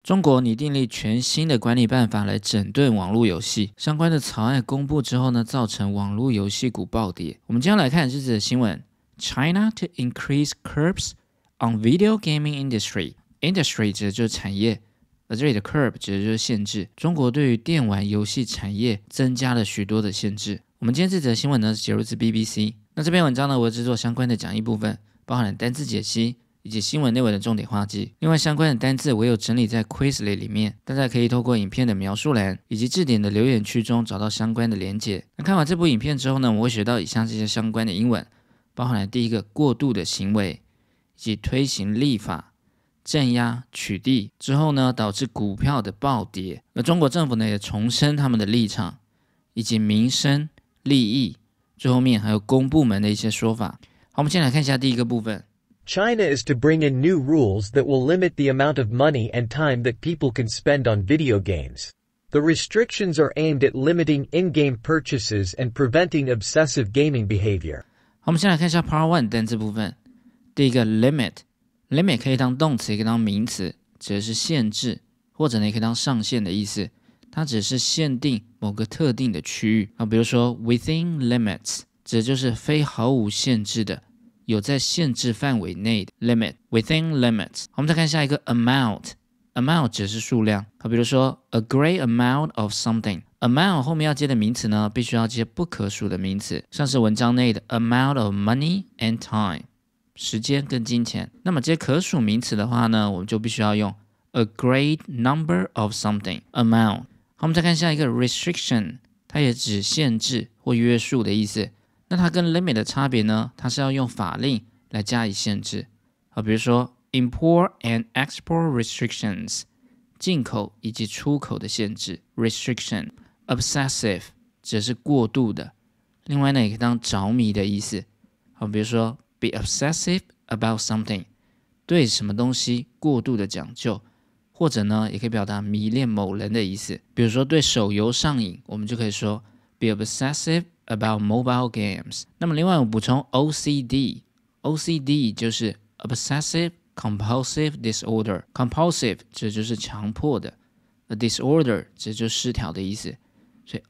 中国拟订立全新的管理办法来整顿网络游戏，相关的草案公布之后呢，造成网络游戏股暴跌。我们今天来看这则新闻 ：China to increase curbs on video gaming industry。industry 指的就是产业，而这里的 curb 指的就是限制。中国对于电玩游戏产业增加了许多的限制。我们今天这则新闻呢是节录自 BBC。那这篇文章呢，我会制作相关的讲义部分，包含了单字解析以及新闻内文的重点画记。另外相关的单字我有整理在 Quizlet 里面，大家可以透过影片的描述栏以及字典的留言区中找到相关的连结。那看完这部影片之后呢，我会学到以下这些相关的英文，包含了第一个过度的行为，以及推行立法、镇压、取缔之后呢，导致股票的暴跌。而中国政府呢也重申他们的立场，以及民生、利益，最后面还有公部门的一些说法。好，我们先来看一下第一个部分。 China is to bring in new rules that will limit the amount of money and time that people can spend on video games. The restrictions are aimed at limiting in-game purchases and preventing obsessive gaming behavior. 好，我们先来看一下 Part 1 单字部分。第一个 limit 可以当动词，也可以当名词，指的是限制，或者呢也可以当上限的意思。它只是限定某个特定的区域。比如说 within limits 指的就是非毫无限制的，有在限制范围内的 limit within limits。 我们再看下一个 amount 指的是数量。比如说 a great amount of something， amount 后面要接的名词呢，必须要接不可数的名词，像是文章内的 amount of money and time， 时间跟金钱。那么接可数名词的话呢，我们就必须要用 a great number of something amount。 好，我们再看下一个 restriction， 它也指限制或约束的意思。那它跟 limit 的差别呢，它是要用法令来加以限制。比如说 import and export restrictions， 进口以及出口的限制 restriction。 obsessive 指的是过度的，另外呢也可以当着迷的意思。比如说 be obsessive about something， 对什么东西过度的讲究，或者呢也可以表达迷恋某人的意思。比如说对手游上瘾，我们就可以说 be obsessive about mobile games。 那么另外我补充 OCD 就是 obsessive compulsive disorder， compulsive 这就是强迫的， a disorder 这就是失调的意思，所以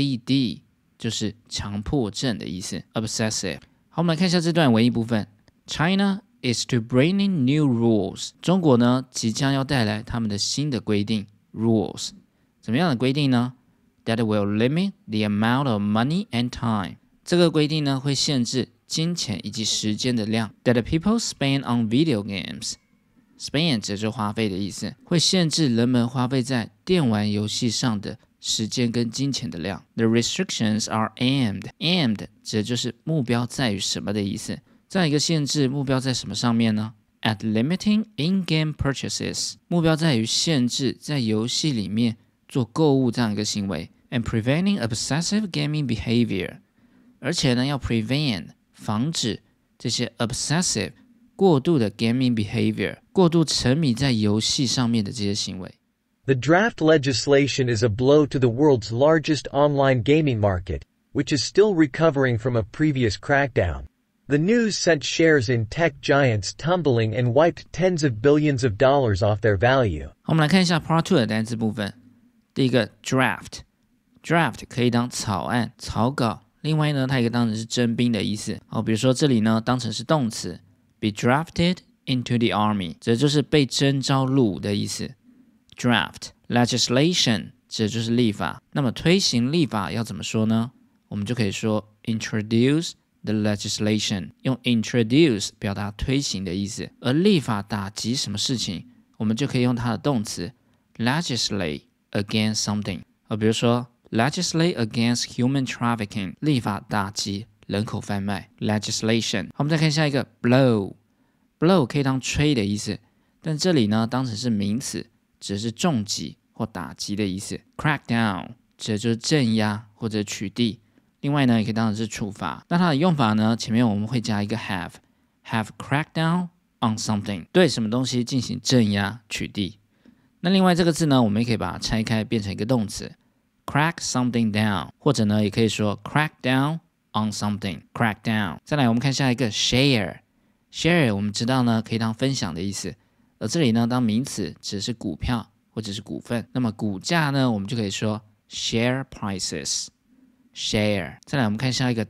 OCD 就是强迫症的意思 obsessive。 好，我们来看一下这段文艺部分。 China is to bring in new rules， 中国呢即将要带来他们的新的规定 rules。 怎么样的规定呢？That will limit the amount of money and time， 这个规定呢会限制金钱以及时间的量。That people spend on video games， spend 指的是花费的意思，会限制人们花费在电玩游戏上的时间跟金钱的量。The restrictions are aimed 指的就是目标在于什么的意思。再一个限制目标在什么上面呢？ At limiting in-game purchases， 目标在于限制在游戏里面做购物这样一个行为。And preventing obsessive gaming behavior， 而且呢要 prevent 防止这些 obsessive 过度的 gaming behavior， 过度沉迷在游戏上面的这些行为。 The draft legislation is a blow to the world's largest online gaming market, which is still recovering from a previous crackdown. The news sent shares in tech giants tumbling and wiped tens of billions of dollars off their value. 我们来看一下 Part 2 的单词部分。第一个 draft 可以当草案、草稿，另外呢，它也可以当成是征兵的意思。比如说这里呢，当成是动词 be drafted into the army， 这就是被征召入伍的意思。draft legislation 指的就是立法。那么推行立法要怎么说呢？我们就可以说 introduce the legislation， 用 introduce 表达推行的意思。而立法打击什么事情，我们就可以用它的动词 legislate against something。比如说legislate against human trafficking， 立法打击人口贩卖 legislation。 好，我们再看下一个 blow 可以当吹的意思，但这里呢当成是名词，指的是重击或打击的意思。 crackdown 指的就是镇压或者取缔，另外呢也可以当成是处罚。那它的用法呢，前面我们会加一个 have cracked down on something， 对什么东西进行镇压取缔。那另外这个字呢，我们也可以把它拆开变成一个动词 crack something down， 或者呢也可以说 crack down on something， crack down。 再来我们看下一个 share 我们知道呢可以当分享的意思，而这里呢当名词指的是股票或或者是股份。那么股价呢，我们就可以说 share prices。share。再来我们看下一个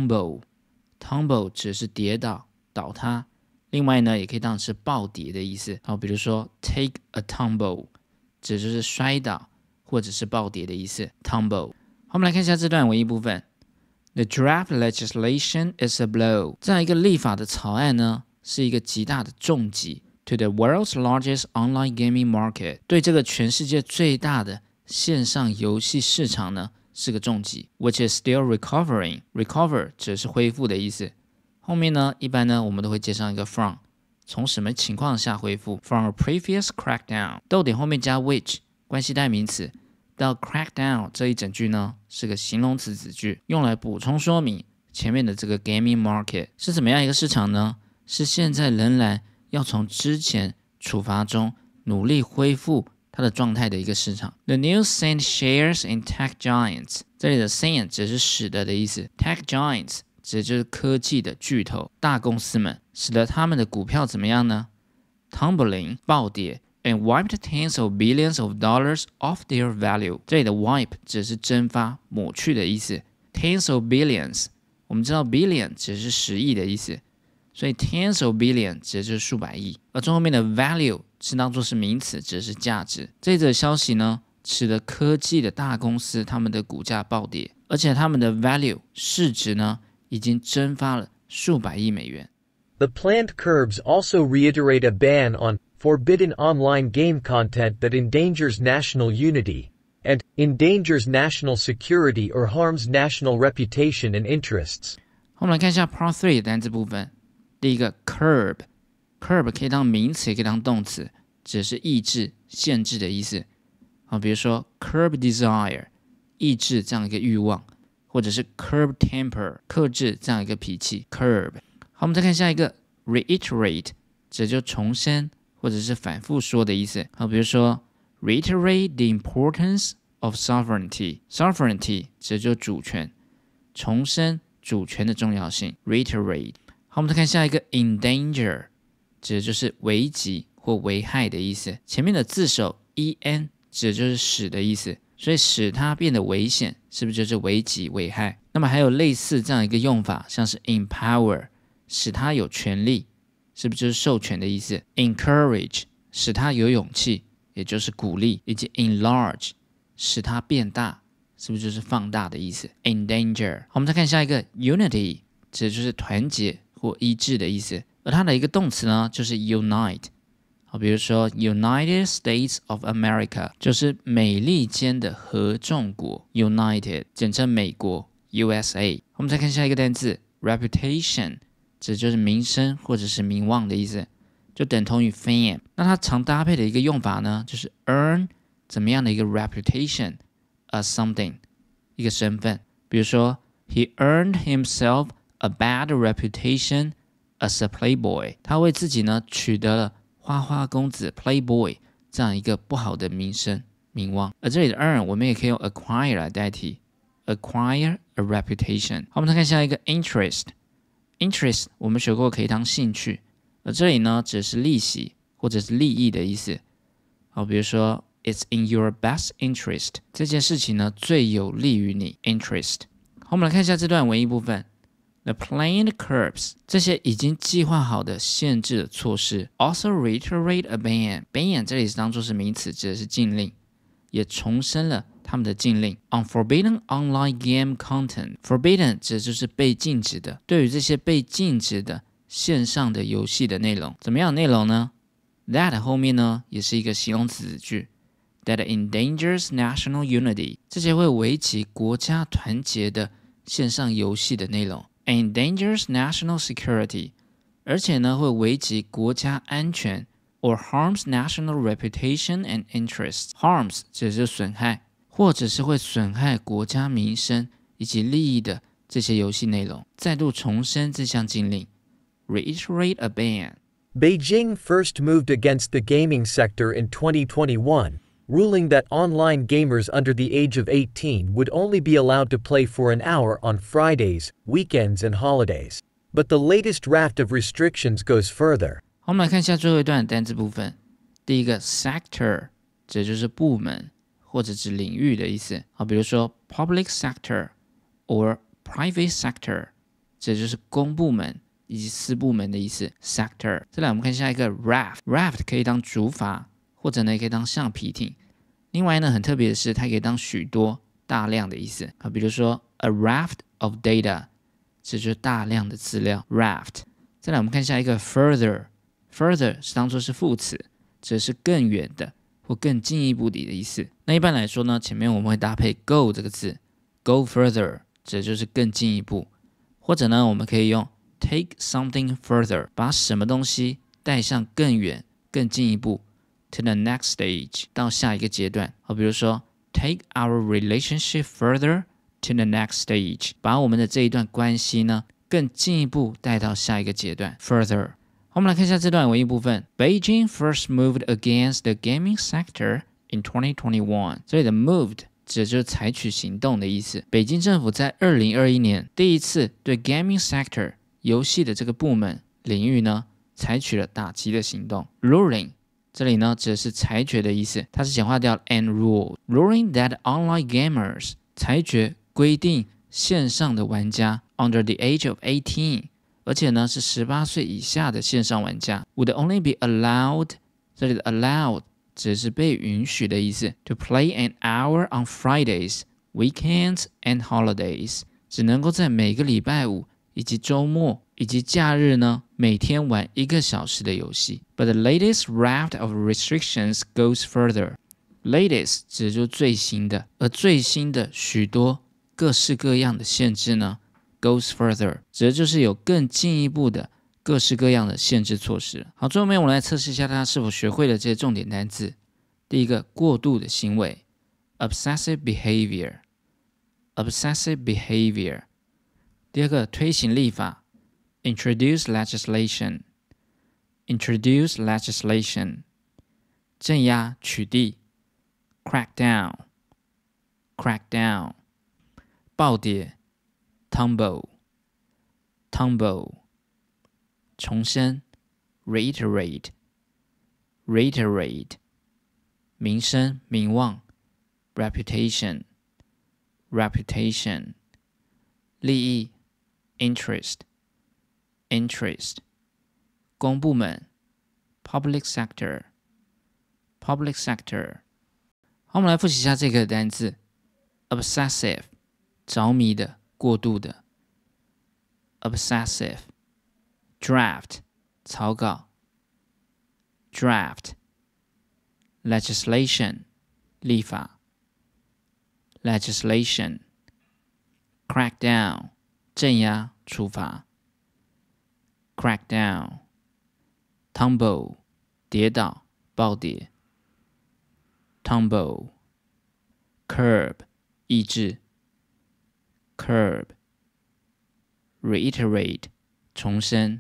tumble。tumble 指的是跌倒、倒塌。另外呢，也可以当成是暴跌的意思。好，比如说 take a tumble， 指的就是摔倒或者是暴跌的意思。tumble。好，我们来看一下这段文艺部分。The draft legislation is a blow。这样一个立法的草案呢，是一个极大的重击。To the world's largest online gaming market， 对这个全世界最大的线上游戏市场呢，是个重击。Which is still recovering。 Recover 指的是恢复的意思。后面呢，一般呢，我们都会接上一个 from， 从什么情况下恢复 ？From a previous crackdown， 逗点后面加 which， 关系代名词。到 crackdown 这一整句呢，是个形容词子句，用来补充说明前面的这个 gaming market 是怎么样一个市场呢？是现在仍然要从之前处罚中努力恢复它的状态的一个市场。The news sent shares in tech giants。 这里的 sent 只是使得的意思， tech giants 指的就是科技的巨头大公司们，使得他们的股票怎么样呢？ Tumbling 暴跌 and wiped tens of billions of dollars off their value。 这里的 wipe 只是蒸发抹去的意思， tens of billions 我们知道 billion 只是10亿的意思，所以 tens of billion 指的就是数百亿，而中后面的 value 是当作是名词，指的是价值。这则消息呢，使得科技的大公司他们的股价暴跌，而且他们的 value 市值呢，已经蒸发了数百亿美元。 The planned curbs also reiterate a ban on forbidden online game content that endangers national unity and endangers national security or harms national reputation and interests。 我们来看一下 Part 3 的单字部分。第一个 curb， curb 可以当名词，也可以当动词，指的是抑制、限制的意思。好，比如说 curb desire， 抑制这样一个欲望，或者是 curb temper， 克制这样一个脾气。curb。好，我们再看下一个 reiterate， 指的就重申或者是反复说的意思。好，比如说 reiterate the importance of sovereignty， sovereignty 指的就主权，重申主权的重要性。reiterate。好，我们再看下一个 endanger， 指的就是危及或危害的意思。前面的字首 en 指的就是使的意思，所以使它变得危险，是不是就是危及危害？那么还有类似这样一个用法，像是 empower， 使它有权利，是不是就是授权的意思？ encourage， 使它有勇气，也就是鼓励，以及 enlarge， 使它变大，是不是就是放大的意思？ endanger。好，我们再看下一个 unity， 指的就是团结或一致的意思，而它的一个动词呢，就是 unite。好，比如说 United States of America 就是美利坚的合众国 United， 简称美国 USA。我们再看下一个单字 reputation， 指就是名声或者是名望的意思，就等同于 fame。那它常搭配的一个用法呢，就是 earn 怎么样的一个 reputation as something， 一个身份。比如说 He earned himself a bad reputation as a playboy， 他为自己呢取得了花花公子 playboy 这样一个不好的名声名望。而这里的 earn 我们也可以用 acquire 来代替 acquire a reputation。 好，我们再看下一个 interest。 interest 我们学过可以当兴趣，而这里呢只是利息或者是利益的意思。好，比如说 It's in your best interest， 这件事情呢最有利于你 interest。 好，我们来看一下这段文艺部分。The planned curbs， 这些已经计划好的限制的措施 also reiterate a ban。 ban 这里是当作是名词，指的是禁令，也重申了他们的禁令 on forbidden online game content。 forbidden 指的就是被禁止的，对于这些被禁止的线上的游戏的内容，怎么样的内容呢？ That 后面呢也是一个形容词子句， That endangers national unity， 这些会危及国家团结的线上游戏的内容。endangers national security， 而且呢会危及国家安全 or harms national reputation and interests。 harms 指的是损害，或者是会损害国家名声以及利益的这些游戏内容。再度重申这项禁令 reiterate a ban。 Beijing first moved against the gaming sector in 2021, ruling that online gamers under the age of 18 would only be allowed to play for an hour on Fridays, weekends, and holidays. But the latest raft of restrictions goes further. 我们来看一下最后一段的单字部分。第一个 sector， 指的就是部门或者指领域的意思。好，比如说 public sector or private sector， 指的就是公部门以及私部门的意思 sector。再来我们看下一个 raft 可以当竹筏，或者呢也可以当橡皮艇。另外呢很特别的是，它可以当许多大量的意思。好，比如说 a raft of data， 指就是大量的资料 raft。再来我们看下一个 further 是当作是副词，指的是更远的或更进一步的意思。那一般来说呢，前面我们会搭配 go 这个字 go further， 指的就是更进一步。或者呢我们可以用 take something further， 把什么东西带向更远更进一步 to the next stage， 到下一个阶段。好，比如说 take our relationship further to the next stage， 把我们的这一段关系呢更进一步带到下一个阶段 further。好，我们来看一下这段文艺部分。Beijing first moved against the gaming sector in 2021。这里的 moved 指的就是采取行动的意思。北京政府在2021年第一次对 gaming sector 游戏的这个部门领域呢采取了打击的行动。Ruling 这里呢指的是裁决的意思，它是简化掉 and rule。Ruling that online gamers 裁决规定线上的玩家 under the age of 18， 而且呢是18岁以下的线上玩家 would only be allowed， 这里的 allowed 指的是被允许的意思 to play an hour on Fridays, weekends and holidays， 只能够在每个礼拜五以及周末以及假日呢每天玩1个小时的游戏。 But the latest raft of restrictions goes further。 Latest 指的就是最新的，而最新的许多各式各样的限制呢 goes further， 指的就是有更进一步的各式各样的限制措施。好，最后面我们来测试一下大家是否学会了这些重点单字。第一个，过度的行为 obsessive behavior。 第二个，推行立法 introduce legislation。 镇压取缔 crack down。 暴跌 tumble。 重申 reiterate。 名声名望 reputation。 利益 interest。 公部门 public sector。 好，我们来复习一下这个单字 obsessive， 着迷的过度的 obsessive。 draft 草稿 draft。 legislation 立法 legislation。 crackdown 镇压处罚 crackdown。 tumble 跌倒暴跌 tumble。 curb 抑制 curb。 reiterate 重申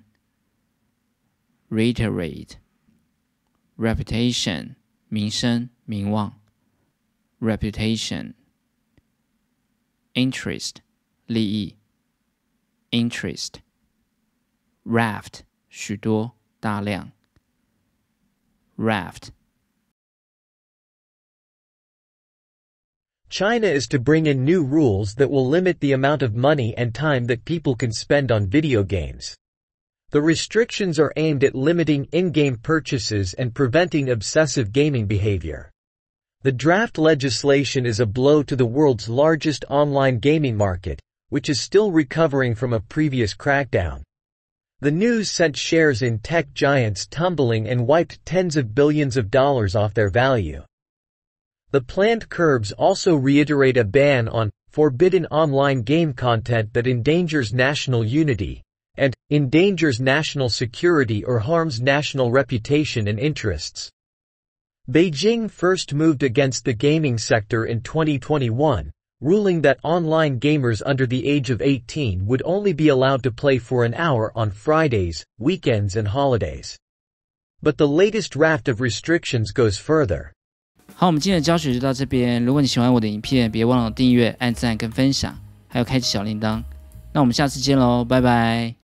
reiterate。 reputation 名声名望 reputation。 interest 利益 interest。 raft 许多大量 raft。 China is to bring in new rules that will limit the amount of money and time that people can spend on video games. The restrictions are aimed at limiting in-game purchases and preventing obsessive gaming behavior. The draft legislation is a blow to the world's largest online gaming market, which is still recovering from a previous crackdown. The news sent shares in tech giants tumbling and wiped tens of billions of dollars off their value. The planned curbs also reiterate a ban on forbidden online game content that endangers national unity and endangers national security or harms national reputation and interests. Beijing first moved against the gaming sector in 2021, ruling that online gamers under the age of 18 would only be allowed to play for an hour on Fridays, weekends and holidays. But the latest raft of restrictions goes further. 好，我们今天的教学就到这边。如果你喜欢我的影片，别忘了订阅、按赞跟分享，还有开启小铃铛。那我们下次见喽，拜拜。